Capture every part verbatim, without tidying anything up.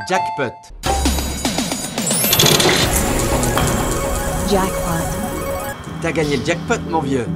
Jackpot. Jackpot. T'as gagné le jackpot, mon vieux.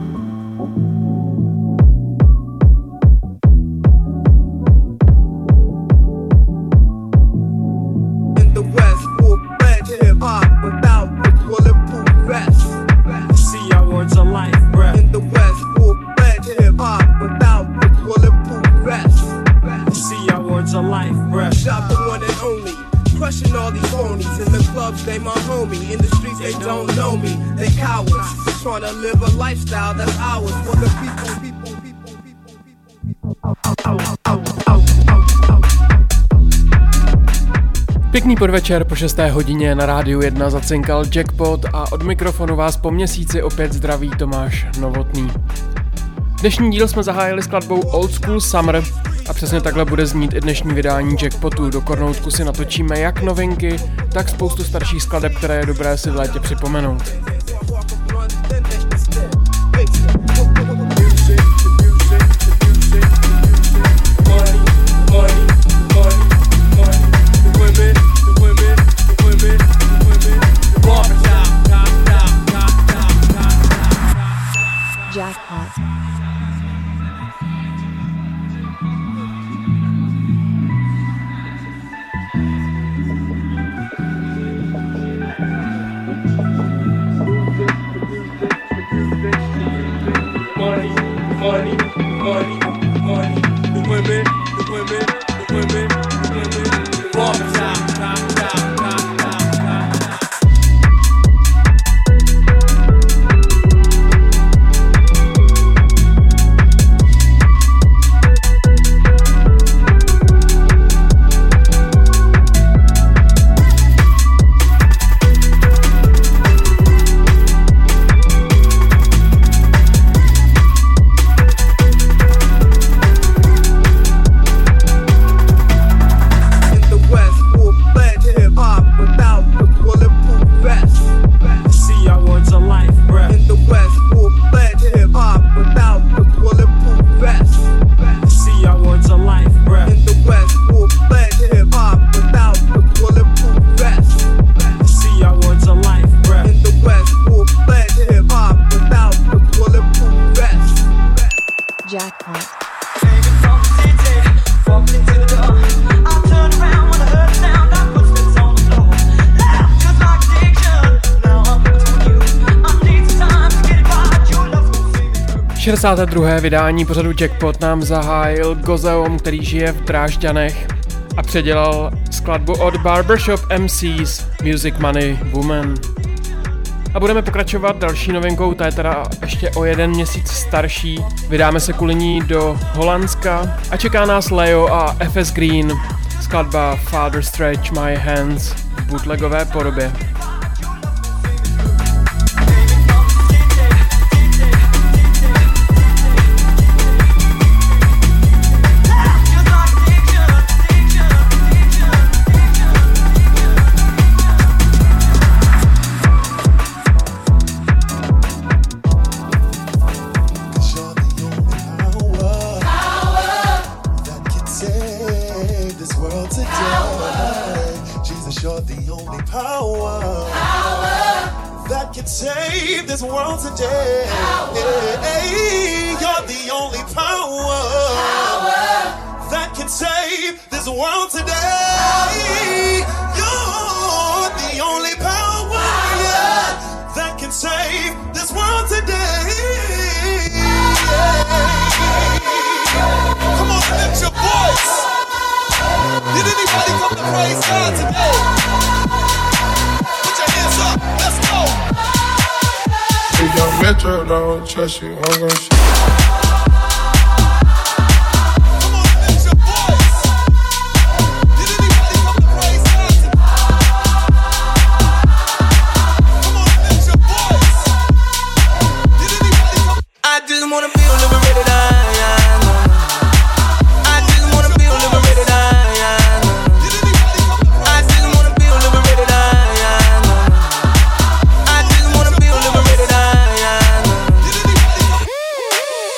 They my homie, in the streets they don't know me. They cowards, trying to live a lifestyle that's ours for the people, people, people, people, people. Pěkný podvečer, po šesté hodině na Rádiu jedna zacinkal Jackpot a od mikrofonu vás po měsíci opět zdraví Tomáš Novotný. Dnešní díl jsme zahájili skladbou Old School Summer a přesně takhle bude znít i dnešní vydání Jackpotu. Do kornoutku si natočíme jak novinky, tak spoustu starších skladeb, které je dobré si v létě připomenout. Jackpot. Money, money, money, money. The women, the women, the women, the women. Walk top, top, top, top, top, top. šedesáté druhé vydání pořadu Jackpot nám zahájil Gozeom, který žije v Drážďanech a předělal skladbu od Barbershop M Cs Music Money Woman. A budeme pokračovat další novinkou, ta je teda ještě o jeden měsíc starší. Vydáme se kvůli ní do Holandska a čeká nás Leo a F S Green, skladba Father Stretch My Hands v bootlegové podobě. Save this world today. Hey, you're the only power, power that can save this world today. You're the only power, yeah, that can save this world today. Come on, lift your voice. Did anybody come to praise God today? Put your hands up. Let's go. If your metro don't trust you, I'm gon' shoot. Come on, lift your voice. Did anybody come to praise God today? Come on, lift your voice. Did anybody come? I just wanna feel liberated. I, I know. I just wanna feel liberated. I, I know. Did anybody come to praise? I just wanna feel liberated. I, I know. I just wanna feel liberated. I, I know. Did anybody come?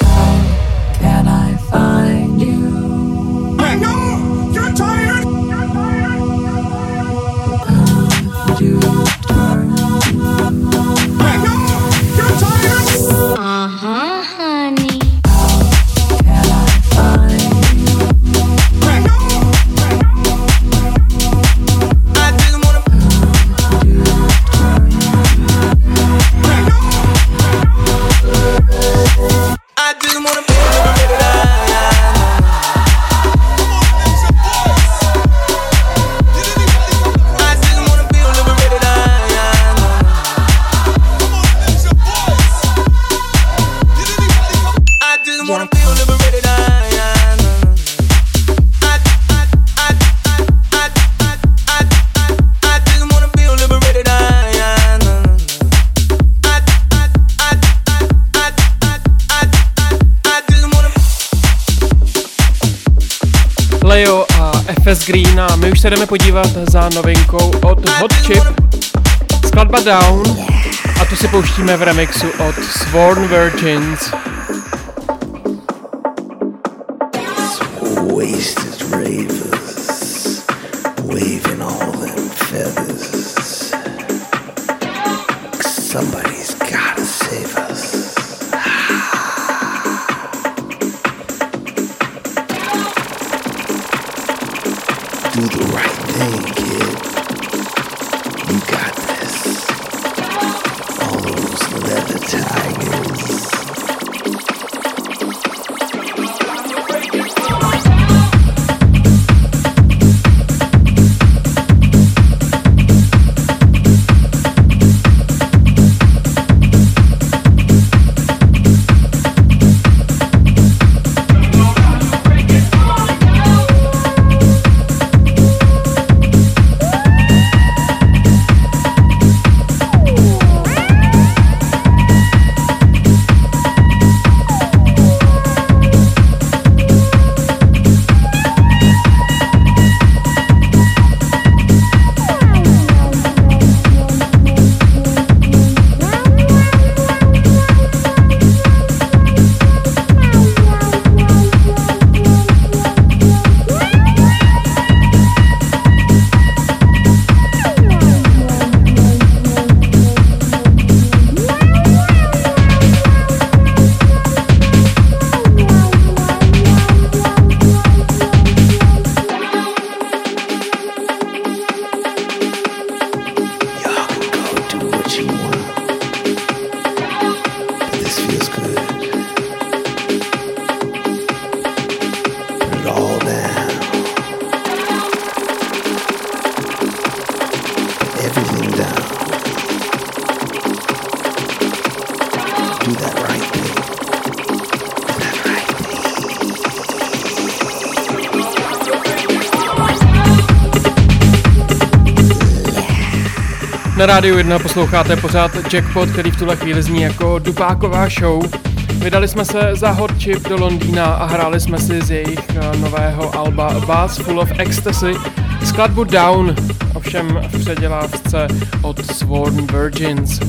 Leo a F S Green a my už se jdeme podívat za novinkou od Hot Chip. Skladba Down a tu si pouštíme v remixu od Sworn Virgins. Wasted ravers, waving all them feathers. Somebody's gotta save us. Do the right thing, kid. You got this. All those leather tigers. Na Rádiu jedna posloucháte pořád Jackpot, který v tuhle chvíli zní jako dupáková show. Vydali jsme se za Hot Chip do Londýna a hráli jsme si z jejich nového alba Bass Full of Ecstasy skladbu Down, ovšem v předělávce od Sworn Virgins.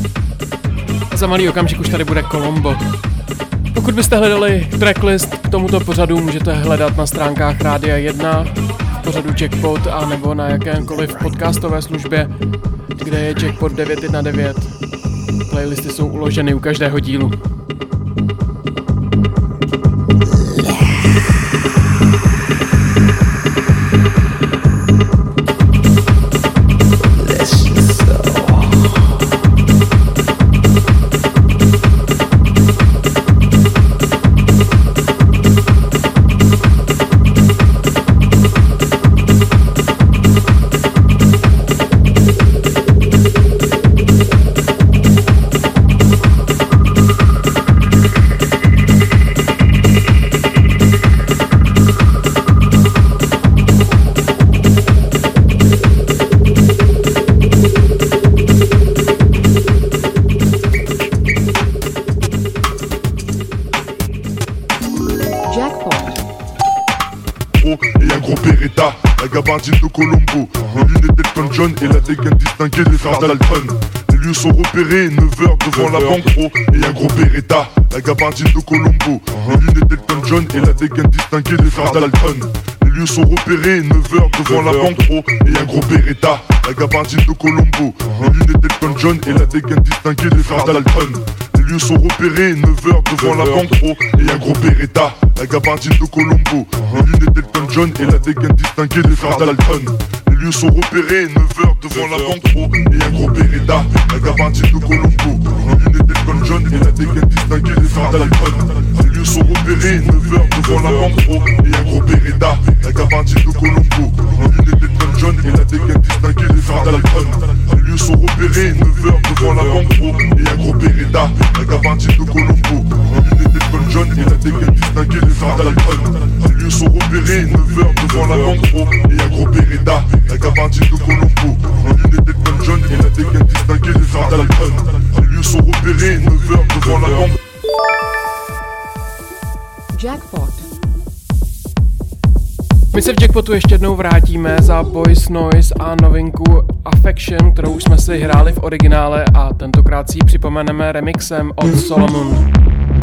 A za malý okamžik už tady bude Colombo. Pokud byste hledali tracklist k tomuto pořadu, můžete hledat na stránkách Rádia jedna, v pořadu Jackpot a nebo na jakémkoliv podcastové službě, kde je Jackpot devět jedna devět. Playlisty jsou uloženy u každého dílu. Gabardine de Colombo, les lunettes d'Elton John et la dégaine distinguée des frères Dalton. Les lieux sont repérés, neuf heures devant la banque pro et un gros Beretta. La gabardine de Colombo, les lunettes d'Elton John et la dégaine distinguée des frères Dalton. Les lieux sont repérés, neuf heures devant la banque pro et un gros Beretta. La gabardine de Colombo, les lunettes d'Elton John et la dégaine distinguée des frères Dalton. Les lieux sont repérés, neuf heures devant la banque pro et un gros Beretta. La gabardine de Colombo, les lunettes d'Elton John et la dégaine distinguée des frères Dalton. Les lieux sont repérés, neuf heures devant la banque pro et un gros Beretta. La gabardine de Colombo, les lunettes d'Elton John et la dégaine distinguée des frères Dalton. Les lieux sont repérés, neuf heures devant la banque pro et un gros Beretta. La gabardine de Colombo, les lunettes d'Elton John et la dégaine distinguée des frères Dalton. Les lieux sont repérés, neuf heures devant la banque pro et un gros Beretta. La gabardine de Colombo, les lunettes d'Elton John et la dégaine distinguée des frères Dalton. Les lieux sont repérés, neuf heures devant la banque pro et un gros Beretta. La gabardine de Colombo, les lunettes d'Elton John et la dégaine distinguée des frères Dalton. Les lieux sont repérés, neuf heures devant la banque. Jackpot. My se v Jackpotu ještě jednou vrátíme za Boys Noise a novinku Affection, kterou už jsme si hráli v originále a tentokrát si ji připomeneme remixem od Solomon.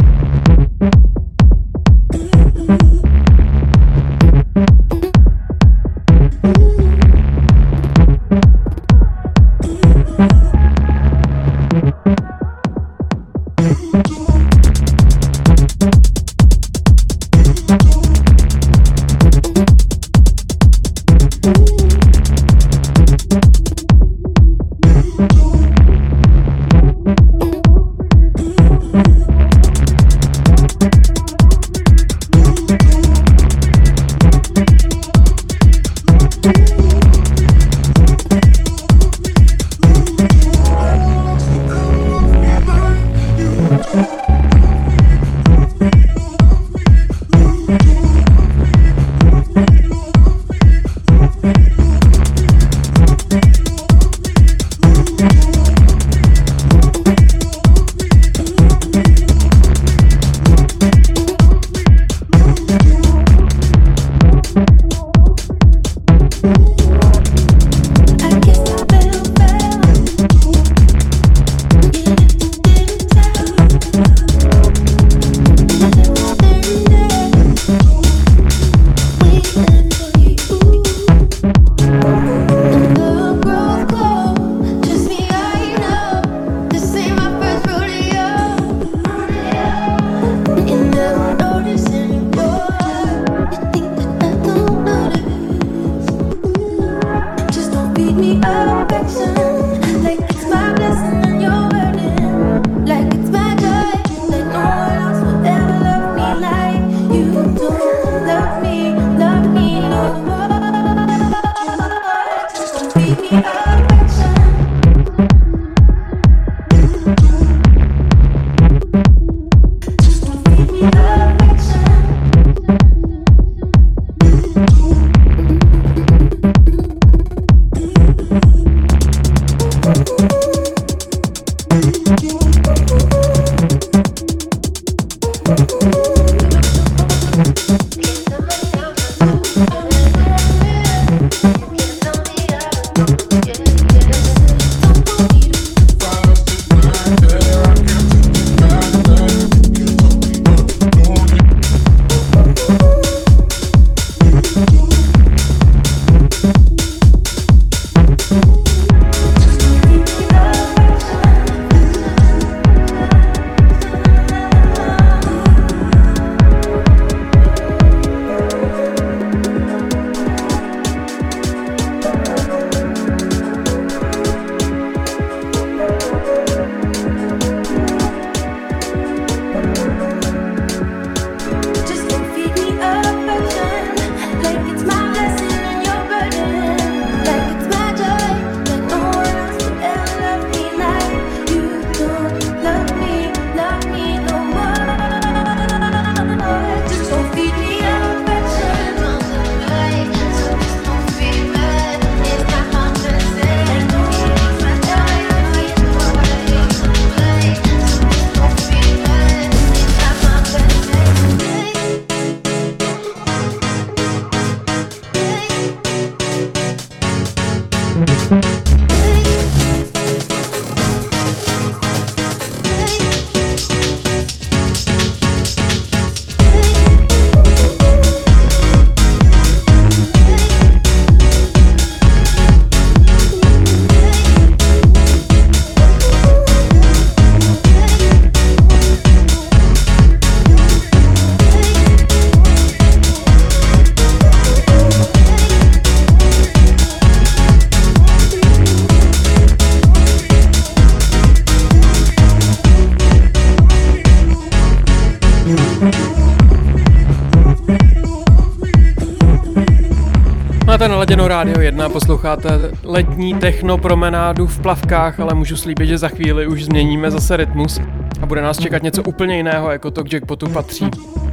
Máte naladěno Rádio jedna, posloucháte letní techno promenádu v plavkách, ale můžu slíbit, že za chvíli už změníme zase rytmus a bude nás čekat něco úplně jiného, jako to k Jackpotu patří.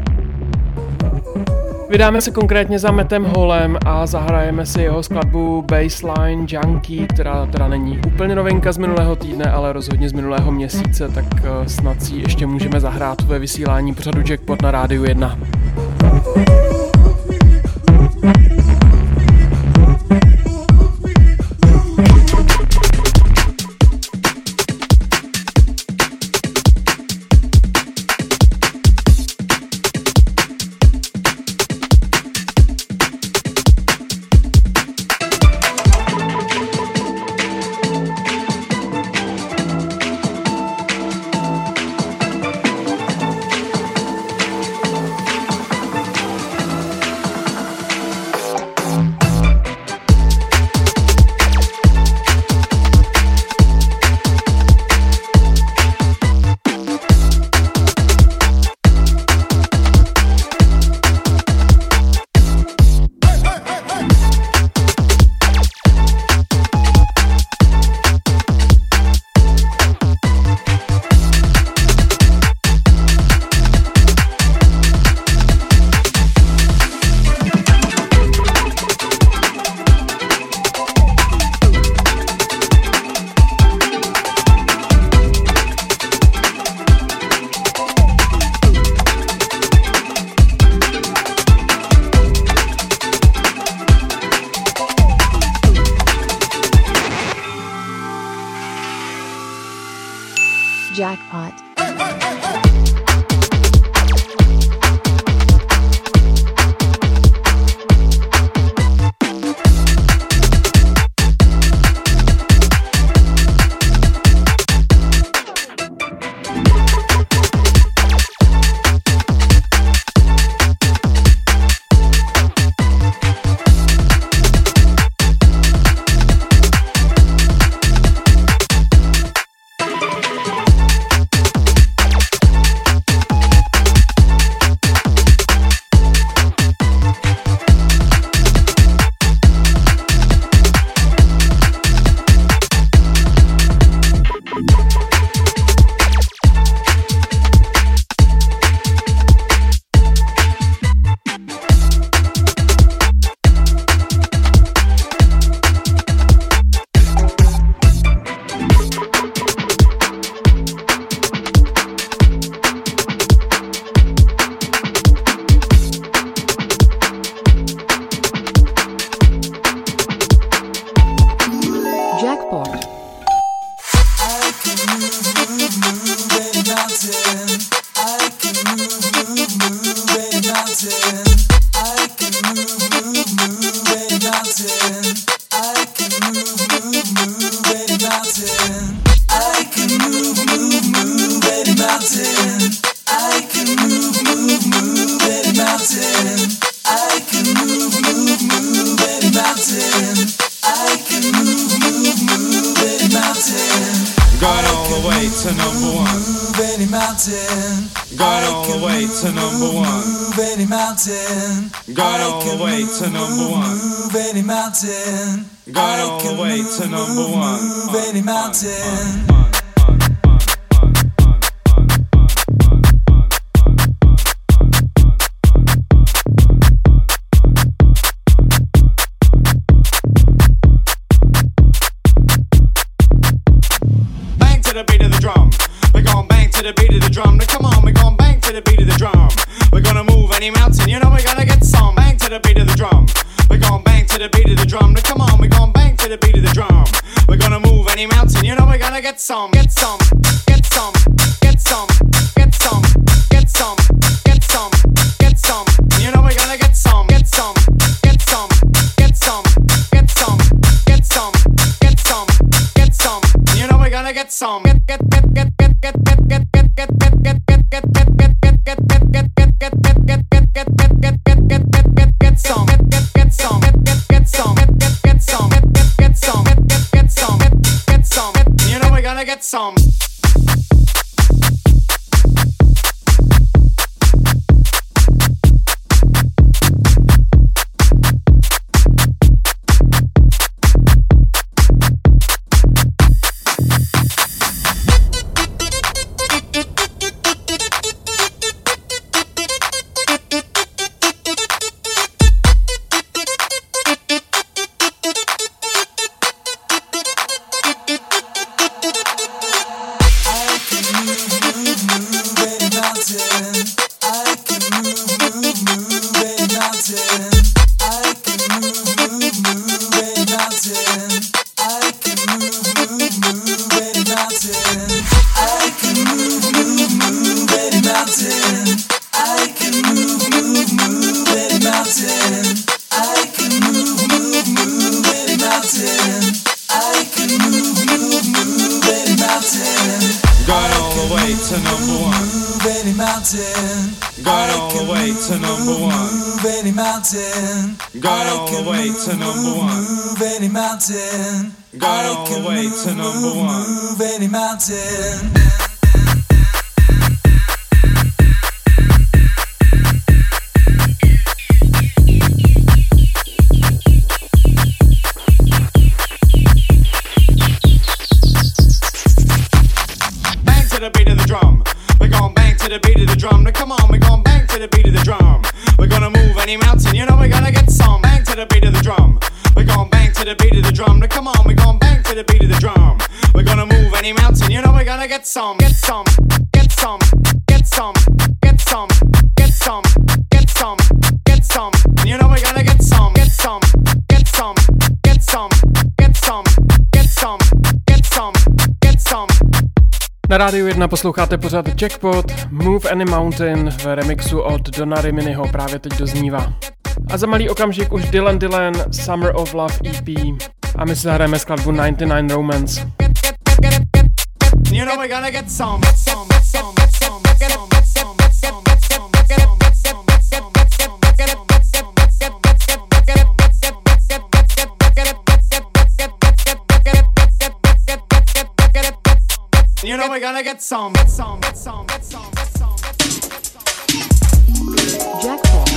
Vydáme se konkrétně za Mattem Hallem a zahrajeme si jeho skladbu Bassline Junkie, která teda není úplně novinka z minulého týdne, ale rozhodně z minulého měsíce, tak snad si ještě můžeme zahrát ve vysílání pořadu Jackpot na Rádiu jedna. Jackpot. Na Rádiu jedna posloucháte pořád Jackpot, Move Any Mountain v remixu od Donna Riminiho právě teď doznívá. A za malý okamžik už Dylan Dylan, Summer of Love E P. A my si zahrajeme skladbu devadesát devět Romance. You know we're gonna get some, some, some, some, some, some, some, some, you know we're gonna get some, some, some, some, some. Jackpot.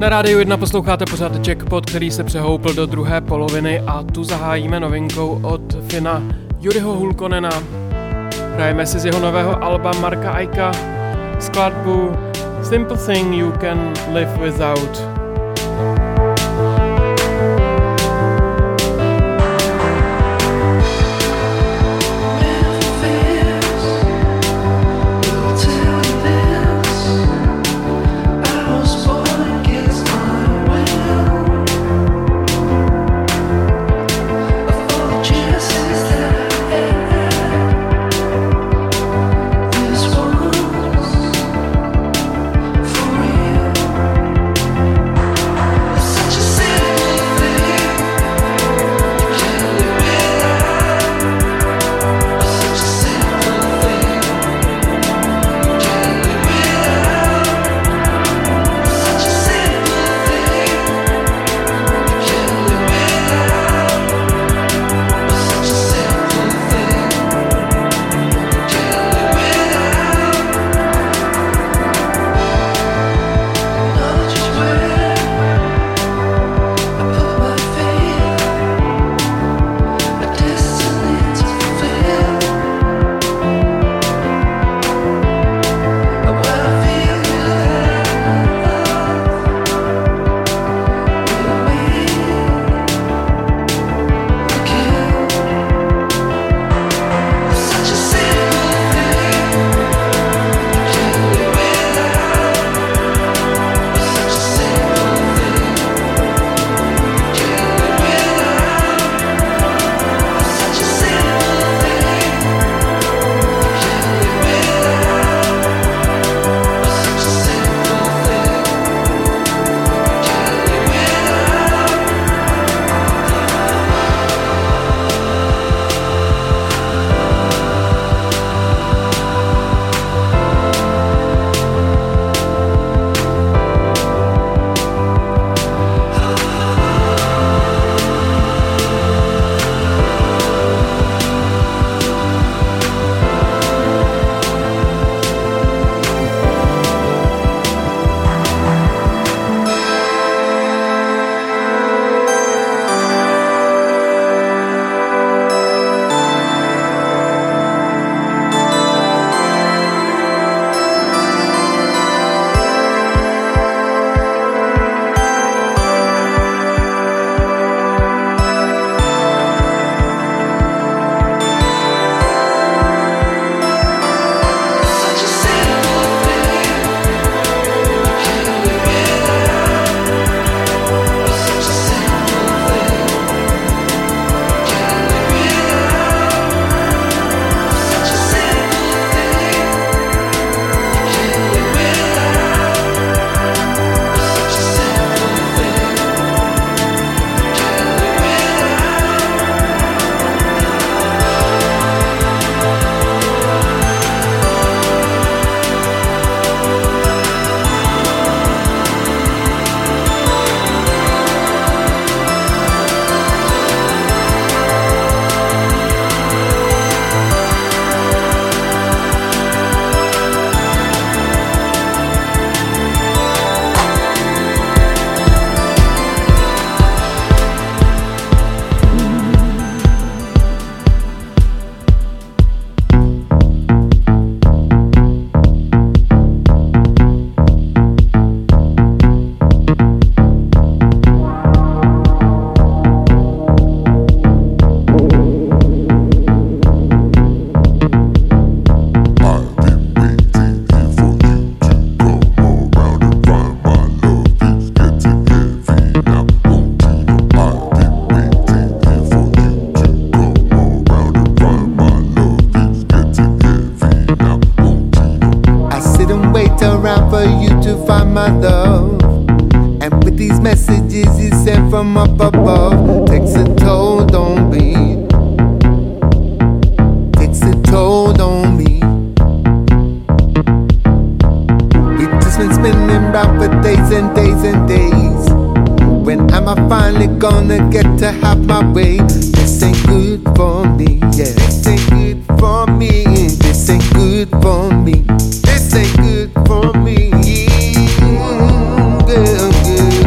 Na Rádiu jedna posloucháte pořád Jackpot, který se přehoupl do druhé poloviny a tu zahájíme novinkou od Fina Juriho Hulkonena. Hrajeme si z jeho nového alba Marka Aika skladbu Simple Thing You Can Live Without. my love. And with these messages you sent from up above, takes a toll on me, takes a toll on me. We've just been spinning round for days and days and days. When am I finally gonna get to have my way? This ain't good for me, yeah. This ain't good for me. This ain't good for me. This ain't good for me. Mm, girl, girl.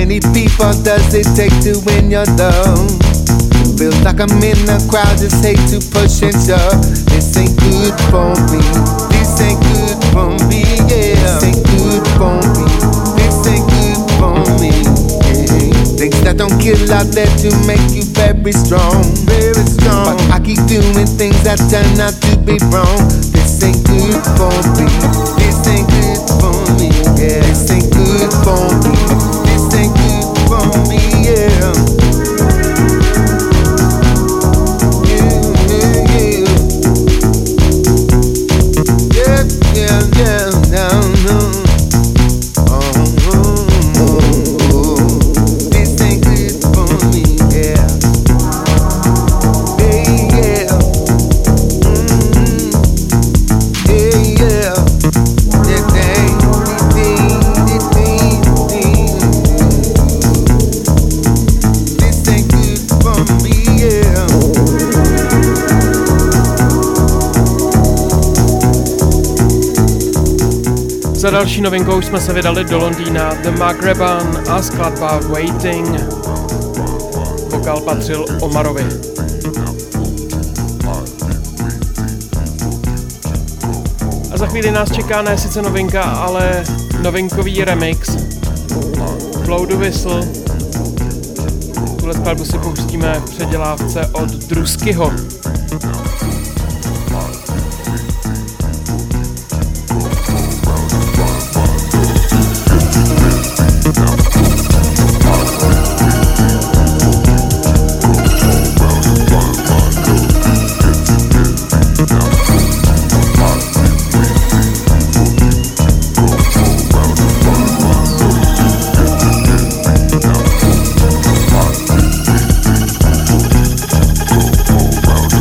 many people does it take to win your love? Feels like I'm in the crowd, just hate to push and shove. This ain't good for me. This ain't good for me, yeah. This ain't good for me. This ain't good for me, yeah. Things that don't kill out there to make you very strong, very strong. But I keep doing things that turn out to be wrong. This ain't good for me. This ain't good for me, yeah. This ain't good for me. This ain't good for me, yeah. Yeah, yeah, no, no. Oh, oh, oh, oh. This ain't good for me, yeah. Hey, yeah. Mm-hmm. Hey, yeah. This ain't, this ain't, this ain't good for me, yeah. Za další novinkou jsme se vydali do Londýna, The Magreban a skladba Waiting. Vokál patřil Omarovi. A za chvíli nás čeká ne sice novinka, ale novinkový remix Blow the Whistle. Tuhle skladbu si pustíme v předělávce od Druskyho. Wow.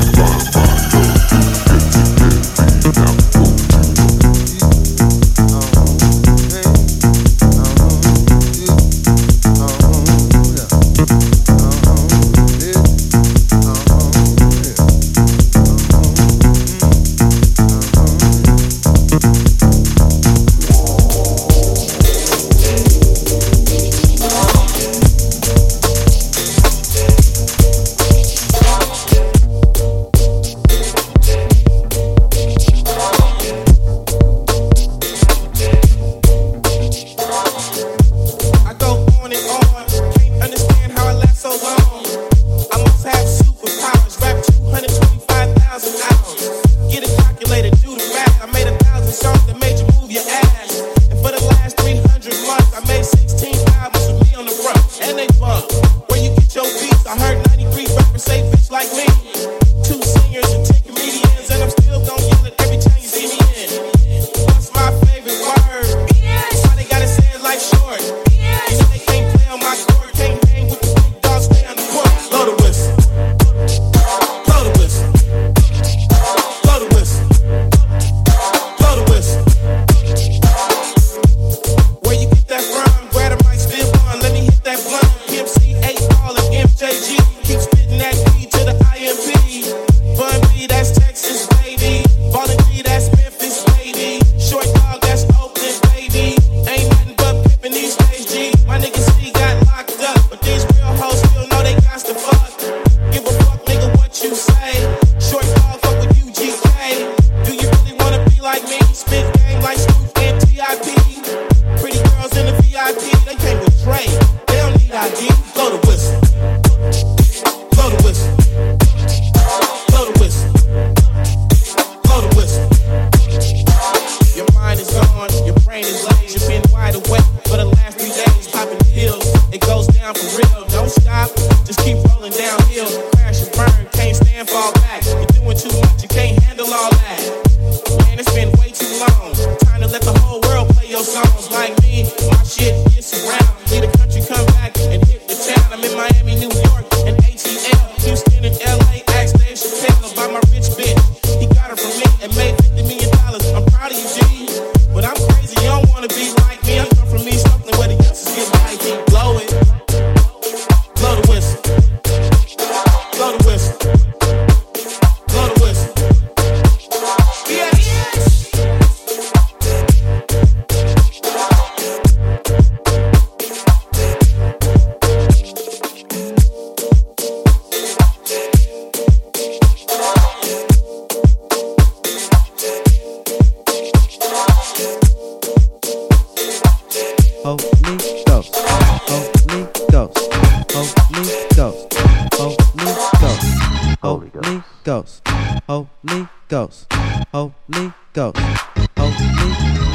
Holy Ghost, Holy Ghost, Holy Ghost, Holy Ghost, Holy Ghost, Holy Ghost, Holy Ghost, Holy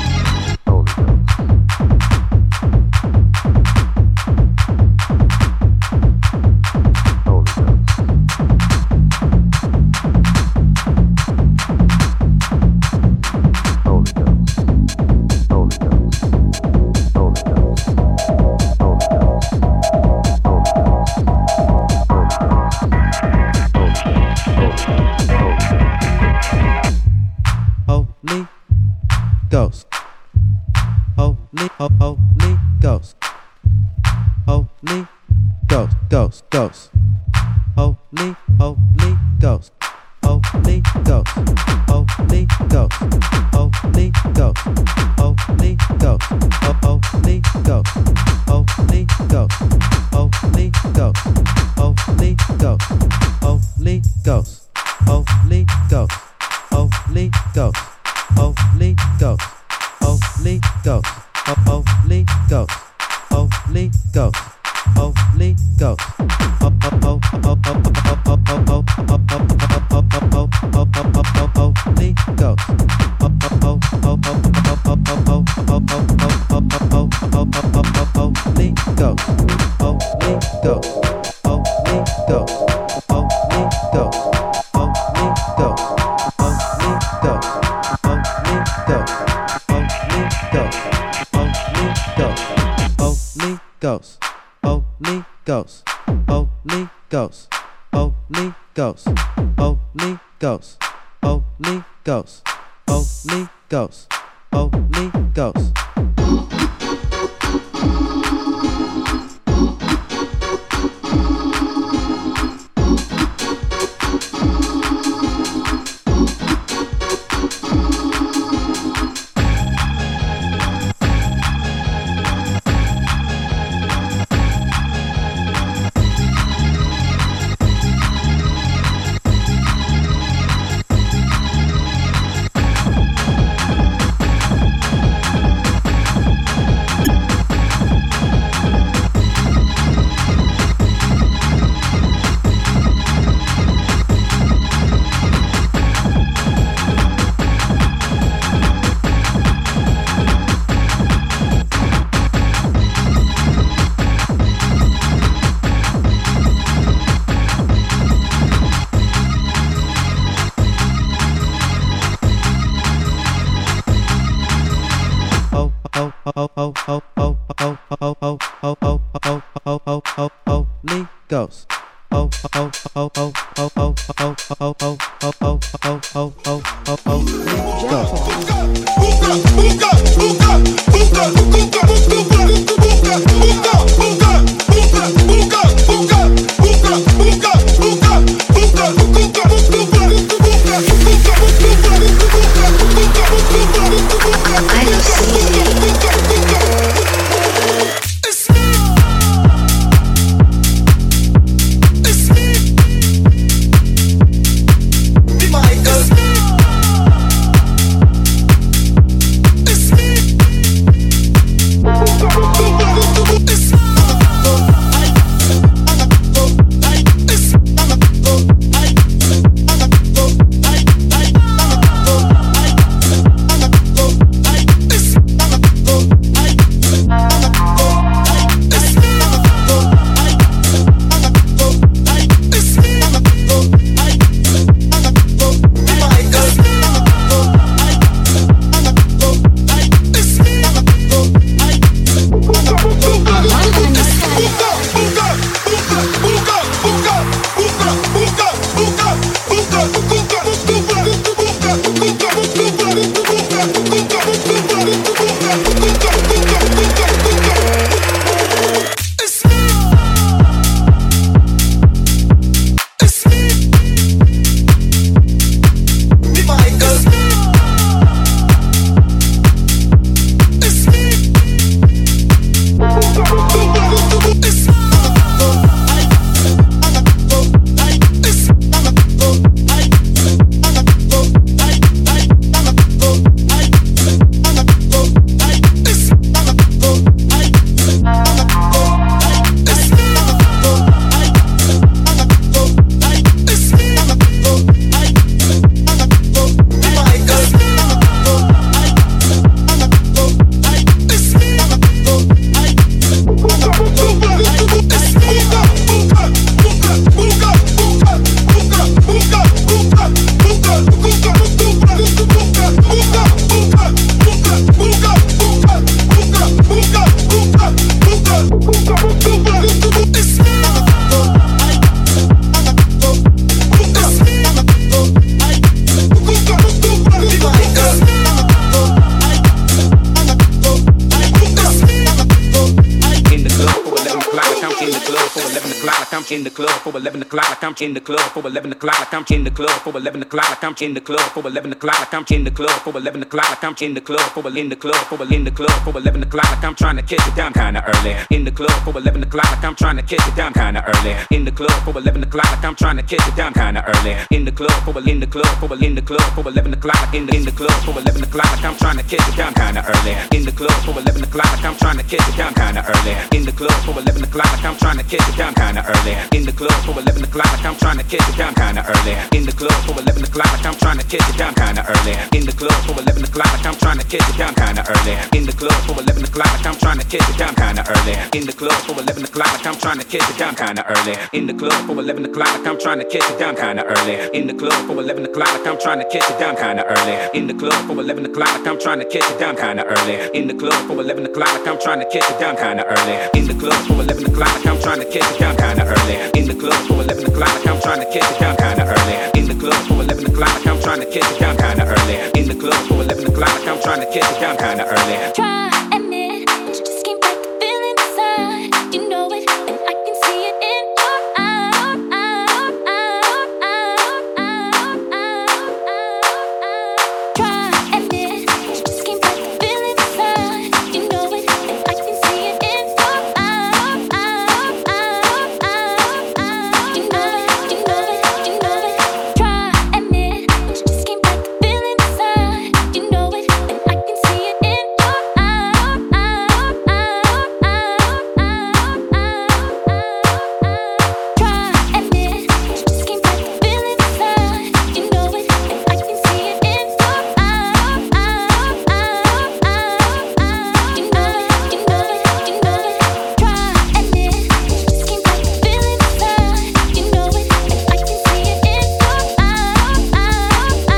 Ghost, Holy, Holy Ghost, Holy Ghost, Ghost, Ghost, Holy, Holy Ghost, Holy Ghost, Holy Ghost, Holy Ghost, Holy Ghost, Holy Ghost, Holy Ghost, Holy Ghost, Holy Ghost, Holy Ghost, Holy Ghost, Holy Ghost, Holy Ghost, Holy Ghost, Holy Ghost, Holy Ghost, Holy Ghost, Ghost, Holy Ghost, Holy Ghost, Holy Ghost, Holy Ghost, Holy Ghost, Holy Ghost, Holy Ghost. Holy Ghost. Oh, oh, oh, oh, oh, oh, oh, oh, oh, oh, oh, oh, oh, oh, oh, Holy in the club for eleven o'clock, like I'm in the club for eleven o'clock, like I'm in the club for eleven o'clock, like I'm in the club for eleven o'clock, like I'm in the club for eleven o'clock, like I'm in the club for in the club for in the club for eleven o'clock, like I'm trying to catch it down kinda early. In the club for eleven o'clock, like I'm trying to catch it down kinda early. In the club for eleven o'clock, like I'm trying to catch it down kinda early. In the club for in the club for in the club for eleven o'clock, like in the in the club for eleven o'clock, like I'm trying to catch it down kinda early. In the club for eleven o'clock, like I'm trying to catch it down kinda early. In the club for eleven o'clock, like I'm trying to catch it down kinda early. In the club for eleven o'clock, like I'm trying to catch it down kinda early. In the club for eleven o'clock, like I'm trying to catch it down kinda early. In the club for eleven o'clock, like I'm trying to catch it down kinda early. In the club for eleven o'clock, like I'm trying to catch it down kinda early. In the club for eleven o'clock, like I'm trying to catch it down kinda early. In the club for eleven o'clock, like I'm trying to catch it down kinda early. In the club for eleven o'clock, like I'm trying to catch it down kinda early. In the club for eleven o'clock, like I'm trying to catch it down kinda early. In the club for eleven o'clock, like I'm trying to catch it down kinda early. In the club for eleven o'clock, like I'm trying to catch it down kinda early. In the club for eleven o'clock, like I'm trying to catch it down kinda early. In the club for eleven o'clock, like I'm trying to catch it down kinda early. In the club for eleven o'clock, like I'm trying to catch it down kinda early. Try admit that you just can't fight the feeling inside. You know it, and I can see it in your eyes. Try admit that you just can't fight the feeling inside. You know it, and I can see it in your eyes. You know it, you know it, you know it. Try admit that you just can't fight the feeling inside. You know it, and I can see it in your eyes. Try admit that you just can't fight the feeling inside. You know it, and I can see it in your eyes. You know it, you know it, you know it. Try admit that you just can't fight the feeling inside. You know it, and I can see it in your eyes. You know it,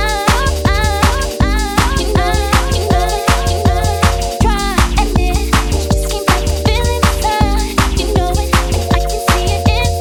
you know it, you know it. Try admit that you just can't fight the feeling inside. You know it, and I can see it in your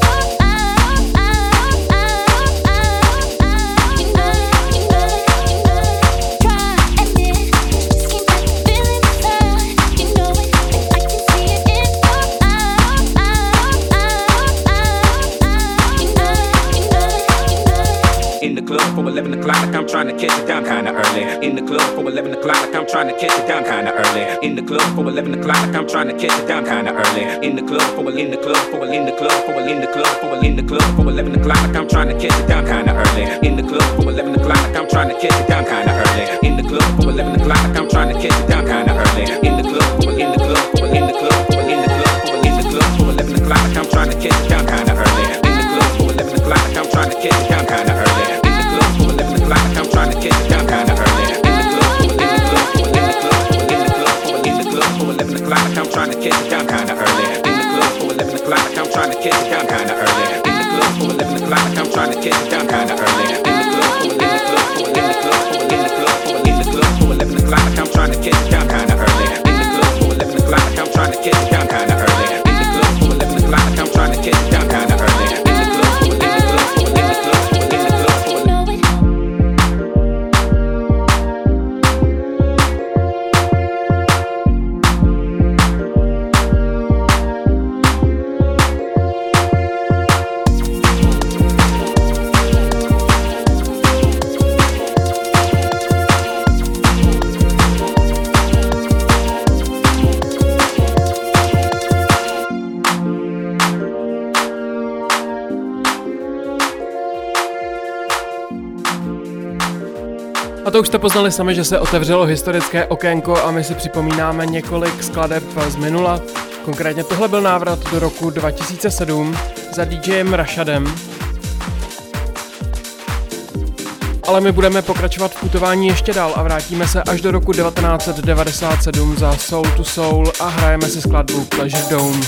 In the club for eleven o'clock, like I'm trying to catch it down kinda early. In the club for eleven o'clock, like I'm trying to catch it down kinda early. In the club for eleven o'clock, like I'm trying to catch it down kinda early. In the club for in the club for in the club for in the club for in the club for eleven o'clock, like I'm trying to catch it down kinda early. In the club for eleven o'clock, like I'm trying to catch it down kinda early. In the club for eleven o'clock, like I'm trying to catch it down kinda early. In the club for in the club for in the club for in the club for in the club for eleven o'clock, like I'm trying to catch it down kinda early. In the club for eleven o'clock, like I'm trying to catch it down kinda early. In the club for eleven o'clock, like I'm trying to catch it down kinda early. In the club for in the club for in the club for in the club for in the club for eleven o'clock, like I'm trying to catch it down kinda early. In the club for eleven o'clock, like I'm trying to catch it down kinda early. In the club for eleven o'clock, like I'm trying to catch it down kinda early. In the club for in the club for in the club for in the club for in the club for eleven o'clock, like I'm trying to catch it down kinda early. In the club for eleven o'clock, like I'm trying to catch it down kinda early. In the club for eleven o'clock, like I'm trying to catch it down kinda early. In the club for in the club for in the club for in the club for you know it. A to už jste poznali sami, že se otevřelo historické okénko a my si připomínáme několik skladeb z minula. Konkrétně tohle byl návrat do roku dva tisíce sedm za DJem Rashadem. Ale my budeme pokračovat v putování ještě dál a vrátíme se až do roku devatenáct set devadesát sedm za Soul to Soul a hrajeme si skladbu Pleasure Dome.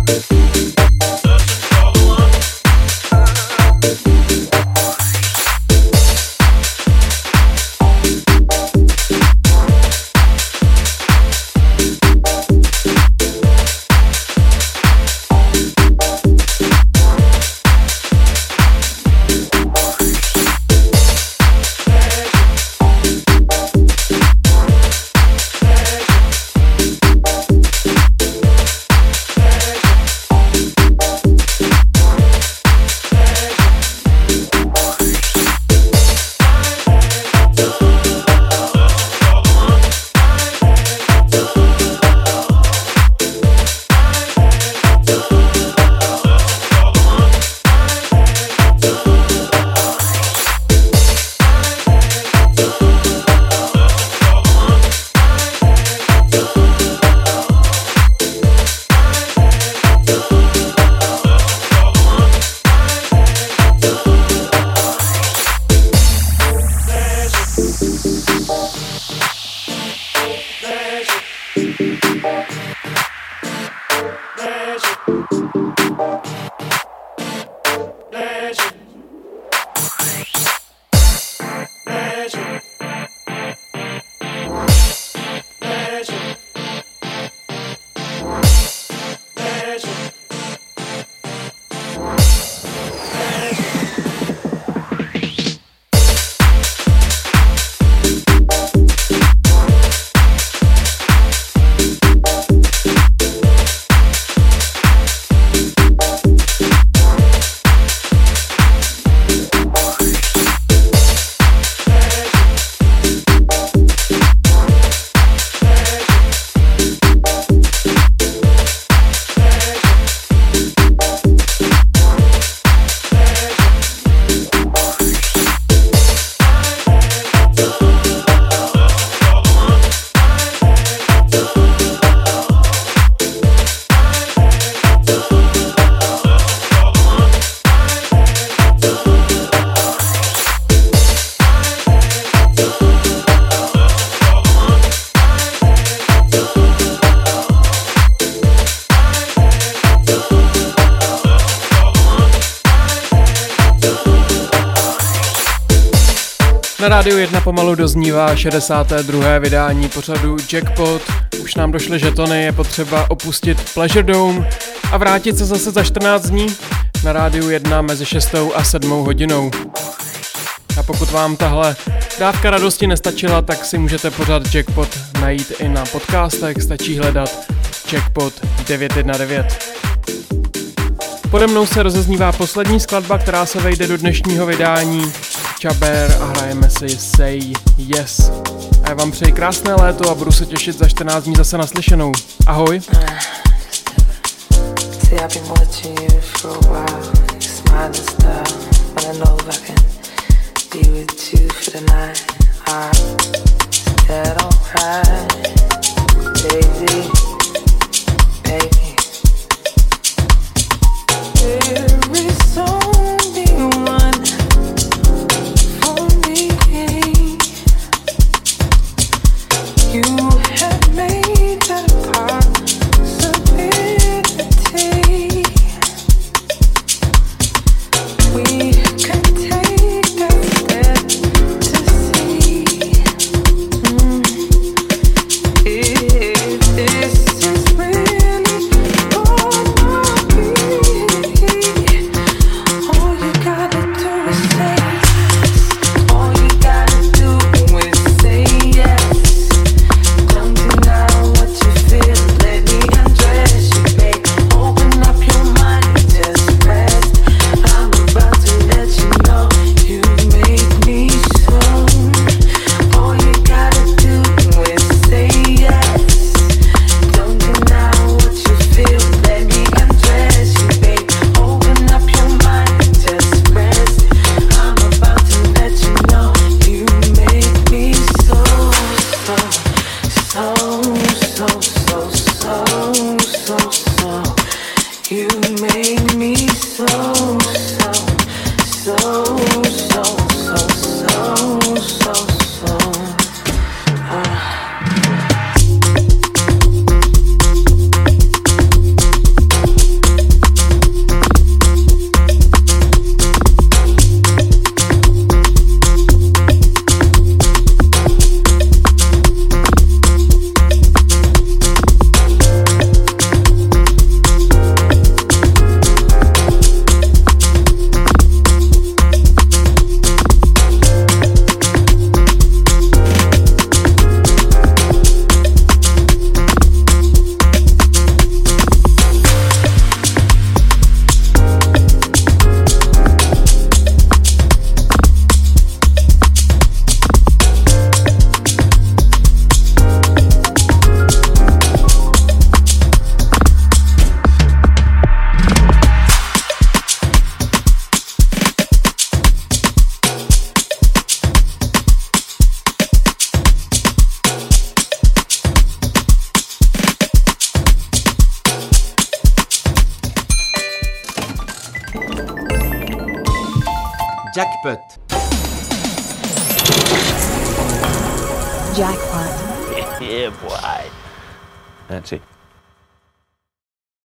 Na Rádiu jedna pomalu doznívá šedesáté druhé vydání pořadu Jackpot. Už nám došly žetony, je potřeba opustit Pleasure Dome a vrátit se zase za čtrnáct dní na Rádiu jedna mezi šestou a sedmou hodinou. A pokud vám tahle dávka radosti nestačila, tak si můžete pořad Jackpot najít i na podcastech, stačí hledat Jackpot devět jedna devět. Pode mnou se rozeznívá poslední skladba, která se vejde do dnešního vydání, Čaber, a hrajeme si Say Yes. A já vám přeji krásné léto a budu se těšit za čtrnáct dní zase naslyšenou. Ahoj. Jackpot. Jackpot. Yeah, boy. That's it.